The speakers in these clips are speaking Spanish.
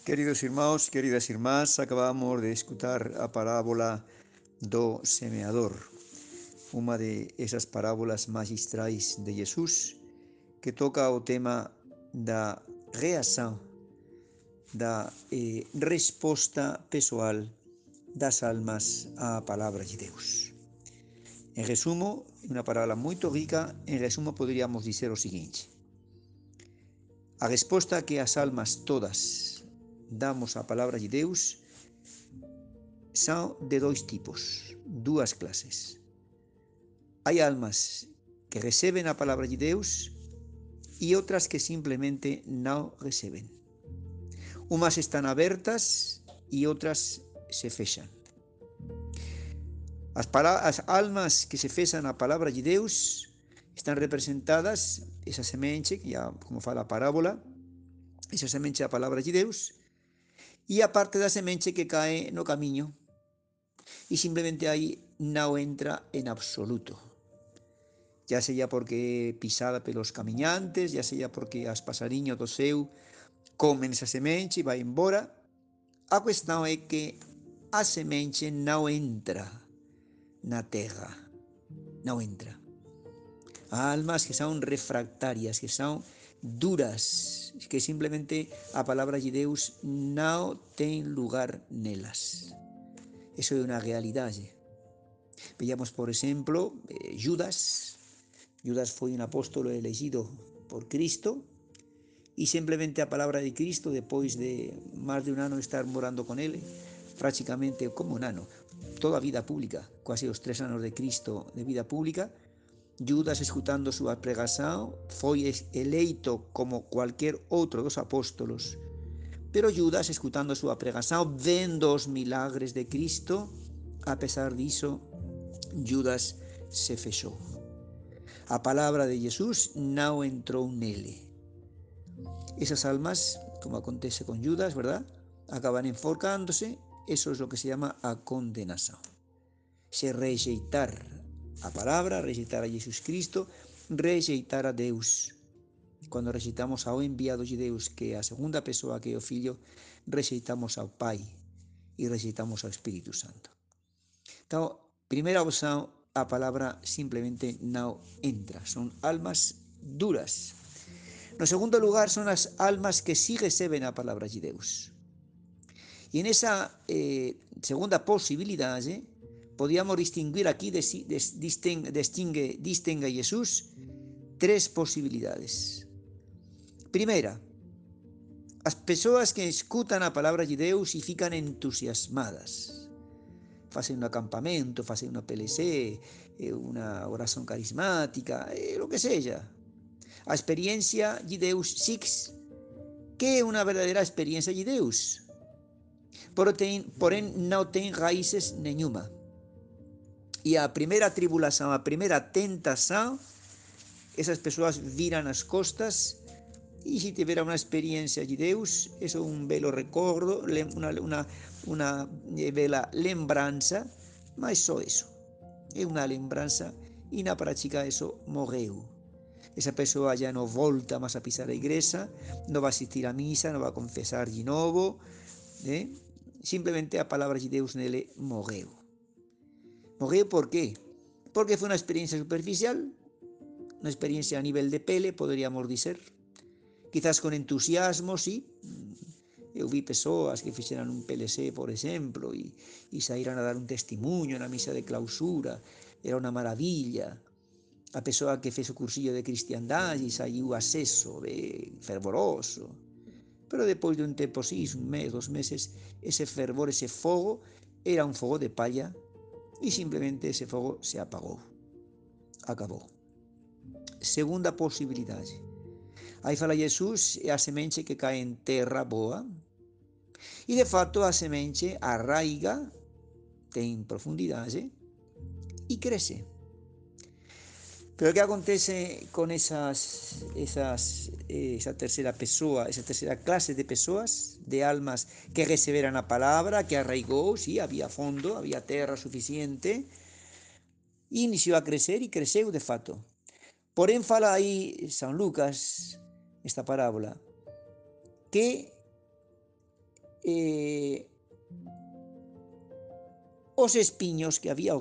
Queridos irmãos, queridas irmás, acabamos de escutar a parábola do semeador, uma de esas parábolas magistrais de Jesús que toca o tema da reação, da resposta pessoal das almas á palavra de Deus. En resumo, unha parábola moito rica, en resumo poderíamos dizer o seguinte: a resposta que as almas todas damos á palavra de Deus são de dois tipos, duas clases. Hai almas que receben a palavra de Deus e outras que simplemente non receben. Umas están abertas e outras se fechan. As almas que se fechan a palavra de Deus están representadas, esa semente, que ya, como fala a parábola, esa semente da palavra de Deus, e a parte da semente que cae no camiño, e simplemente aí non entra en absoluto. Ya sea porque pisada pelos camiñantes, ya sea porque as pasariños do ceu comen esa semente e vai embora. A cuestión é que a semente non entra na terra, non entra. Há almas que son refractarias, que son duras, que simplemente a palabra de Deus non ten lugar nelas. Eso é unha realidade. Veamos, por exemplo, Judas. Judas foi un apóstolo elegido por Cristo e simplemente a palabra de Cristo, depois de máis de un ano estar morando con ele, prácticamente como un ano, toda a vida pública, quase os 3 anos de Cristo de vida pública, Judas, escutando súa pregação, foi eleito como cualquier outro dos apóstolos. Pero Judas, escutando a súa pregação, vendo os milagres de Cristo, a pesar disso, Judas se fechou. A palabra de Jesús non entrou nele. Esas almas, como acontece con Judas, ¿verdad?, acaban enforcándose. Eso es lo que se llama a condenación. Se rejeitar a palabra, rejeitar a Jesús Cristo, rejeitar a Deus. Cuando rejeitamos ao enviado de Deus, que é a segunda persoa, que é o Filho, rejeitamos ao Pai e rejeitamos ao Espírito Santo. Então, primeira opción, a palabra simplemente non entra. Son almas duras. No segundo lugar, son as almas que sí receben a palabra de Deus. E en esa segunda posibilidade, podíamos distinguir aquí, distingue Jesús, tres posibilidades. Primeira, as persoas que escutan a palabra de Deus e fican entusiasmadas. Facen un acampamento, facen unha PLC, unha oración carismática, lo que seja. A experiencia de Deus Six, que é unha verdadeira experiencia de Deus. Porén, non ten raíces nenhuma. E a primeira tribulación, a primeira tentación, esas persoas viran as costas e se tiver unha experiencia de Deus, eso é un belo recordo, unha bela lembranza, mas só eso. É unha lembranza e na práctica eso morreu. Esa persoa ya non volta máis a pisar a igreja, non va a asistir a misa, non va a confesar de novo, simplemente a palabra de Deus nele morreu. Morreu por qué? Porque foi unha experiencia superficial, unha experiencia a nivel de pele, poderíamos dizer, quizás con entusiasmo, sí. Eu vi persoas que fixeran un PLC, por exemplo, e saíran a dar un testimonio na misa de clausura, era unha maravilla. A persoa que fez o cursillo de cristiandade e saiu acceso de fervoroso. Pero depois de un tempo, sí, un mes, 2 meses, ese fervor, ese fogo, era un fogo de palla e simplemente ese fogo se apagou. Acabou. Segunda posibilidade. Aí fala Jesús, é a semente que cae en terra boa, e de fato a semente arraiga, ten profundidade e crece. Pero que acontece con esa terceira persoa, esa terceira clase de persoas, de almas que receberan a palabra, que arraigou, sí, había fondo, había terra suficiente, e iniciou a crecer e creceu de fato. Porén fala aí San Lucas, esta parábola, que eh, os espiños que había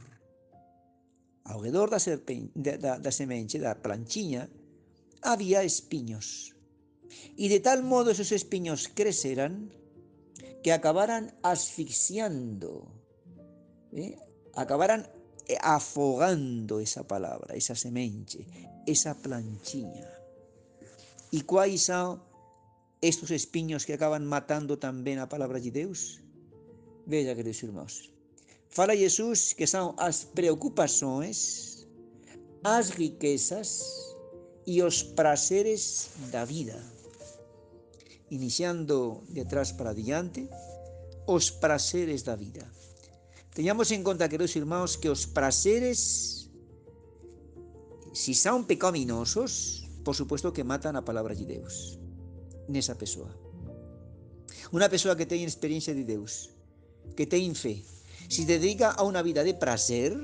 ao redor da semente, da planchiña, había espiños. Y de tal modo esos espiños creceran que acabaran asfixiando, acabaran afogando esa palabra, esa semente, esa planchiña. ¿Y cuáles son estos espiños que acaban matando también a palabra de Dios? Veja, queridos irmãos. Fala Jesús que son as preocupações, as riquezas e os prazeres da vida. Iniciando de atrás para adiante, os prazeres da vida. Teñamos en conta, queridos irmãos, que os prazeres, si son pecaminosos, por supuesto que matan a palabra de Deus nesa persoa. Unha persoa que ten experiencia de Deus, que ten fe, si se dedica a unha vida de prazer,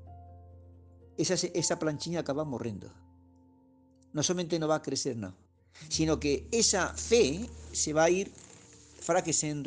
esa planchiña acaba morrendo. Non somente non va a crecer, non, sino que esa fe se va a ir enfraquecendo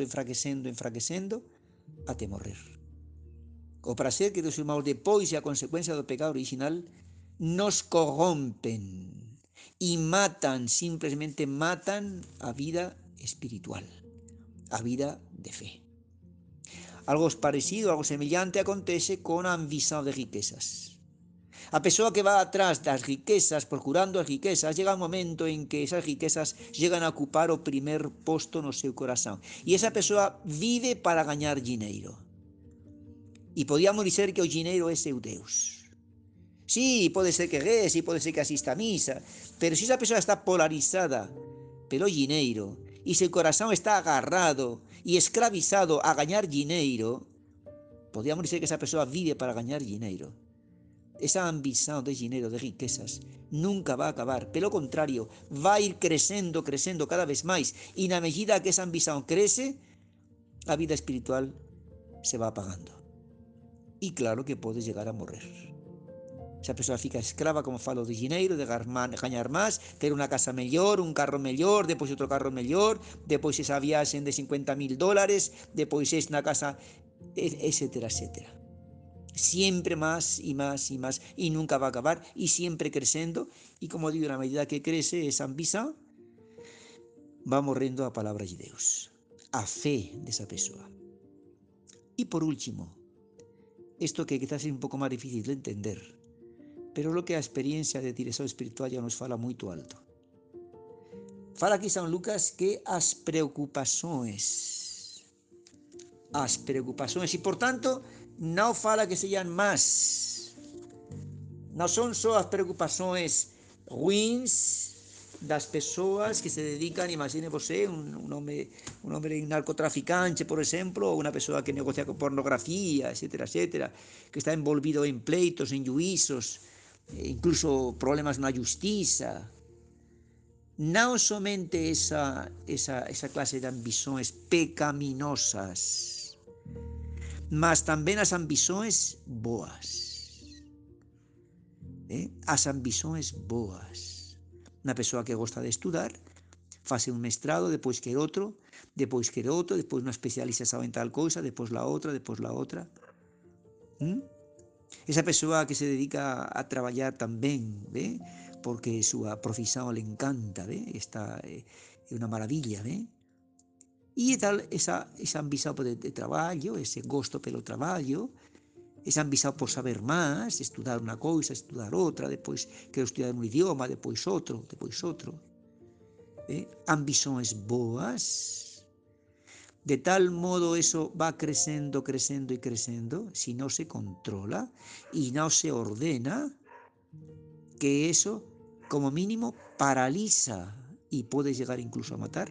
até morrer. O prazer, queridos irmãos, depois e a consecuencia do pecado original, nos corrompen e matan, simplesmente matan a vida espiritual, a vida de fe. Algo parecido, algo semellante acontece con a ambición de riquezas. A persoa que va atrás das riquezas, procurando as riquezas, llega un momento en que esas riquezas llegan a ocupar o primer posto no seu corazón. E esa persoa vive para gañar dinheiro. E podíamos dizer que o dinheiro é seu Deus. Sí, pode ser que reze, pode ser que asista a misa, pero se esa persoa está polarizada pelo dinheiro e seu corazón está agarrado e escravizado a gañar dinheiro, podíamos dizer que esa persoa vive para gañar dinheiro. Esa ambición de dinheiro, de riquezas, nunca va a acabar. Pelo contrario, va a ir crecendo cada vez máis. E na medida que esa ambición crece, a vida espiritual se va apagando. E claro que pode llegar a morrer. Esa persoa fica escrava, como falo, de dinheiro, de gañar máis, ter unha casa mellor, un carro mellor, depois outro carro mellor, depois esa viaxe de $50,000, depois esta casa, etcétera, etcétera. Siempre más y más y más, y nunca va a acabar, y siempre creciendo, y como digo, a medida que crece esa ambición, va morrendo a palabra de Deus, a fe desa persoa. E por último, isto que quizás é un pouco máis difícil de entender, pero lo que a experiencia de dirección espiritual ya nos fala moito alto. Fala aquí San Lucas que as preocupações, e por tanto, non fala que sean más, non son só as preocupações ruins das persoas que se dedican, imagine você, un hombre narcotraficante, por exemplo, ou unha persoa que negocia con pornografía, etcétera, etcétera, que está envolvido en pleitos, en juízos, incluso problemas na justiza. Non somente esa clase de ambições pecaminosas, mas tamén as ambições boas. As ambições boas. Unha persoa que gosta de estudar, fase un mestrado, depois quer outro, depois unha especialización en tal cousa, depois la outra. Esa persoa que se dedica a traballar tamén, porque súa profesión le encanta, esta é unha maravilla, e tal, esa ambición de traballo, ese gosto pelo traballo, esa ambición por saber máis, estudar unha cousa, estudar outra, depois quero estudar un idioma, depois outro. Ambições boas, de tal modo eso va crecendo, si non se controla e non se ordena, que eso, como mínimo, paraliza e pode llegar incluso a matar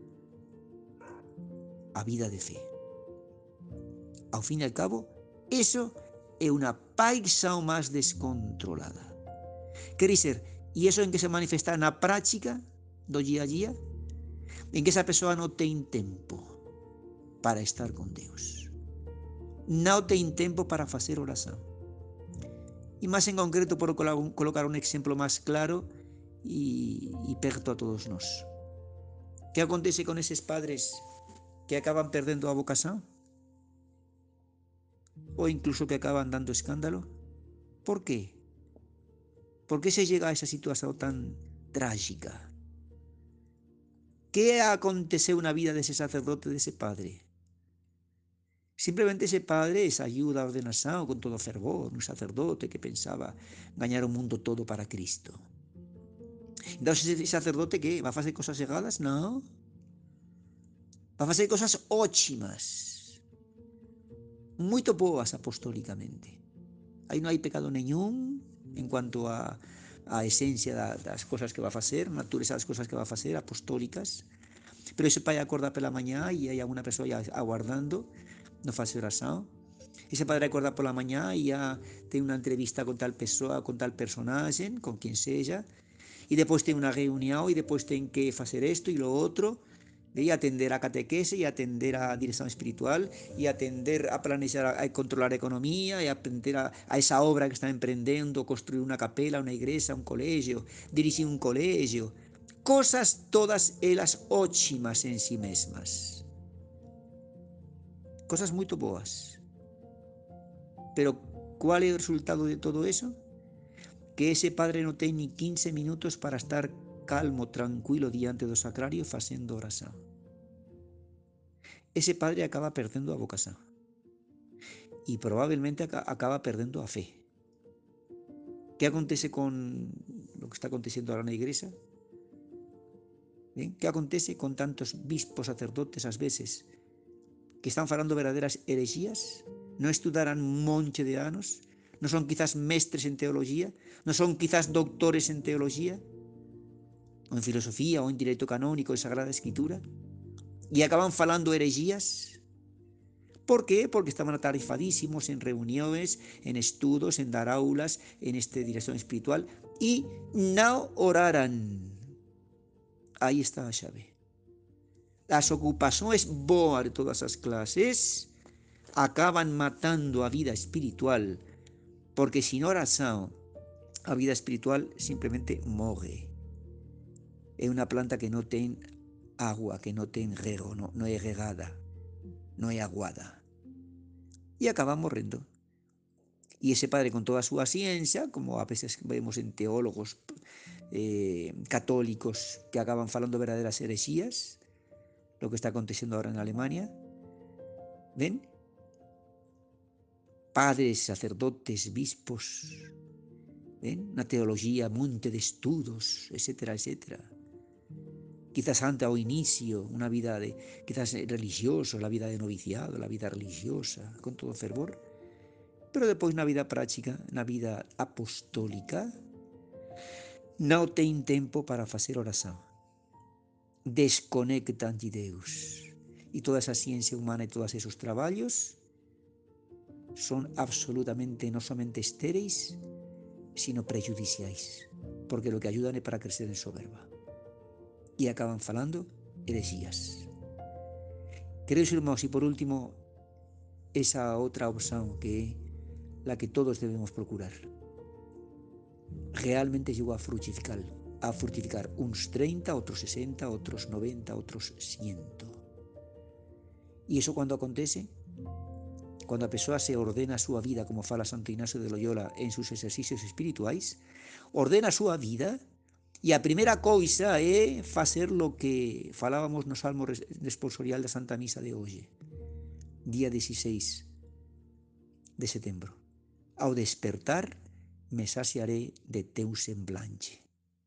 a vida de fe. Ao fin e al cabo, eso é unha paixão máis descontrolada. Quer dizer, e eso en que se manifesta na práctica do día a día, en que esa persoa non ten tempo para estar con Deus. Non ten tempo para facer oración. E máis en concreto, por colocar un exemplo máis claro e perto a todos nós. Que acontece con eses padres que acaban perdendo a vocación o incluso que acaban dando escándalo. ¿Por qué? ¿Por qué se llega a esa situación tan trágica? ¿Qué aconteceu na vida dese sacerdote, dese padre? Simplemente ese padre, esa ayuda a ordenación con todo fervor, un sacerdote que pensaba gañar o mundo todo para Cristo. Entonces ese sacerdote, ¿qué? ¿Va a hacer cosas erradas? No. Va a hacer cosas óchimas, muito boas apostólicamente. Aí non hai pecado ningún en cuanto a esencia das cosas que va a facer, natureza das cosas que va a facer, apostólicas. Pero ese pai acorda pela mañá e hai alguna persoa aguardando, non face oración. Ese padre acorda pola mañá e ya ten unha entrevista con tal persoa, con tal personaxe, con quien sella, e depois ten unha reunión e depois ten que facer isto e lo outro, e atender a catequese e atender a dirección espiritual e atender a planear, a controlar a economía e atender a esa obra que está emprendendo, construir unha capela, unha igrexa, un colegio, dirixir un colegio, cosas todas elas óchimas en si mesmas, cosas moito boas. Pero cual é o resultado de todo eso? Que ese padre non ten ni 15 minutos para estar calmo, tranquilo diante do sacrario facendo oración. Ese padre acaba perdendo a vocación e probablemente acaba perdendo a fe. ¿Qué acontece con lo que está aconteciendo ahora na igrexa? ¿Qué acontece con tantos bispos sacerdotes ás veces que están falando verdaderas herexías? Non estudaran un monte de anos? Non son quizás mestres en teología? Non son quizás doctores en teología? O en filosofía, ou en direito canónico e Sagrada Escritura? E acaban falando herexías? ¿Por qué? Porque estaban atarefadísimos en reuniones, en estudos, en dar aulas, en esta dirección espiritual y no oraran. Aí está a chave. As ocupações boas de todas as clases acaban matando a vida espiritual, porque sin oración a vida espiritual simplemente morre. É unha planta que non ten agua, que non ten rego, non é regada, non é aguada. E acaba morrendo. E ese padre con toda a súa ciencia, como a veces vemos en teólogos católicos que acaban falando verdaderas herexías, lo que está acontecendo ahora en Alemania, ven? Padres, sacerdotes, bispos, ven? Una teología, monte de estudos, etcétera, etcétera. Quizás antes ao inicio, una vida de, quizás religiosa, la vida de noviciado, la vida religiosa, con todo fervor, pero depois na vida práctica, na vida apostólica, non ten tempo para facer oración. Desconectan de Deus. E toda esa ciencia humana e todos esos traballos son absolutamente non somente estéreis, sino prejudiciais, porque lo que ayudan é para crecer en soberba. E acaban falando herexías. Queridos irmãos, e por último, esa outra opción que é la que todos debemos procurar. Realmente llegó a fructificar uns 30, otros 60, otros 90, otros 100. E iso cando acontece? Cando a persoa se ordena a súa vida, como fala Santo Ignacio de Loyola en sus exercicios espirituais, ordena a súa vida e a primeira coisa é facer lo que falábamos no Salmo responsorial da Santa Misa de hoxe, día 16 de setembro. Ao despertar, me saciaré de teu semblante.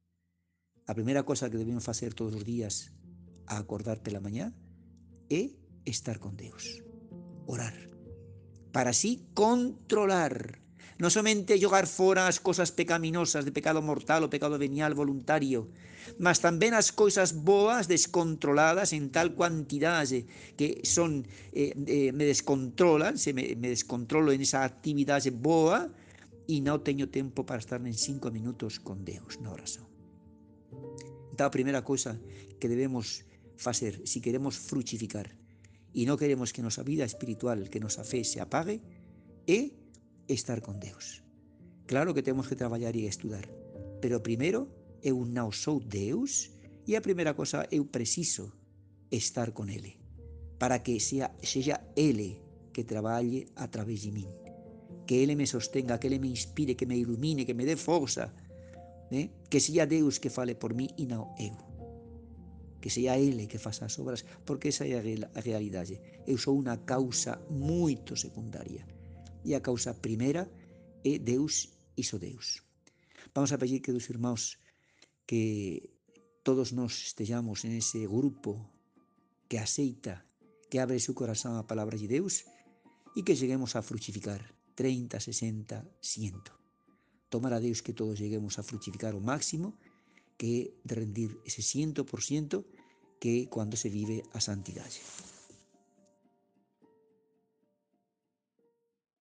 A primeira cosa que debemos facer todos os días a acordar pela mañá é estar con Deus, orar, para así controlar, non somente jogar fora as cosas pecaminosas de pecado mortal ou pecado venial voluntario, mas tamén as coisas boas descontroladas en tal cuantidade que son me descontrolan, me descontrolo en esa actividade boa e non teño tempo para estar en 5 minutos con Deus na oración. Então a primeira coisa que debemos facer se queremos fructificar e non queremos que nosa vida espiritual, que nosa fe se apague, é estar con Deus. Claro que temos que traballar e estudar, pero primeiro eu non sou Deus e a primeira cosa eu preciso estar con Ele, para que seja Ele que traballe a través de min, que Ele me sostenga, que Ele me inspire, que me ilumine, que me dé força, que seja Deus que fale por mí e non eu, que seja Ele que faça as obras, porque esa é a realidade. Eu sou unha causa moito secundaria, e a causa primeira é Deus e só Deus. Vamos a pedir que dos irmãos que todos nós estejamos en ese grupo que aceita, que abre su corazón a palabra de Deus e que lleguemos a fructificar 30, 60, 100. Tomar a Deus que todos lleguemos a fructificar o máximo, que é de rendir ese 100% que é cuando se vive a santidade.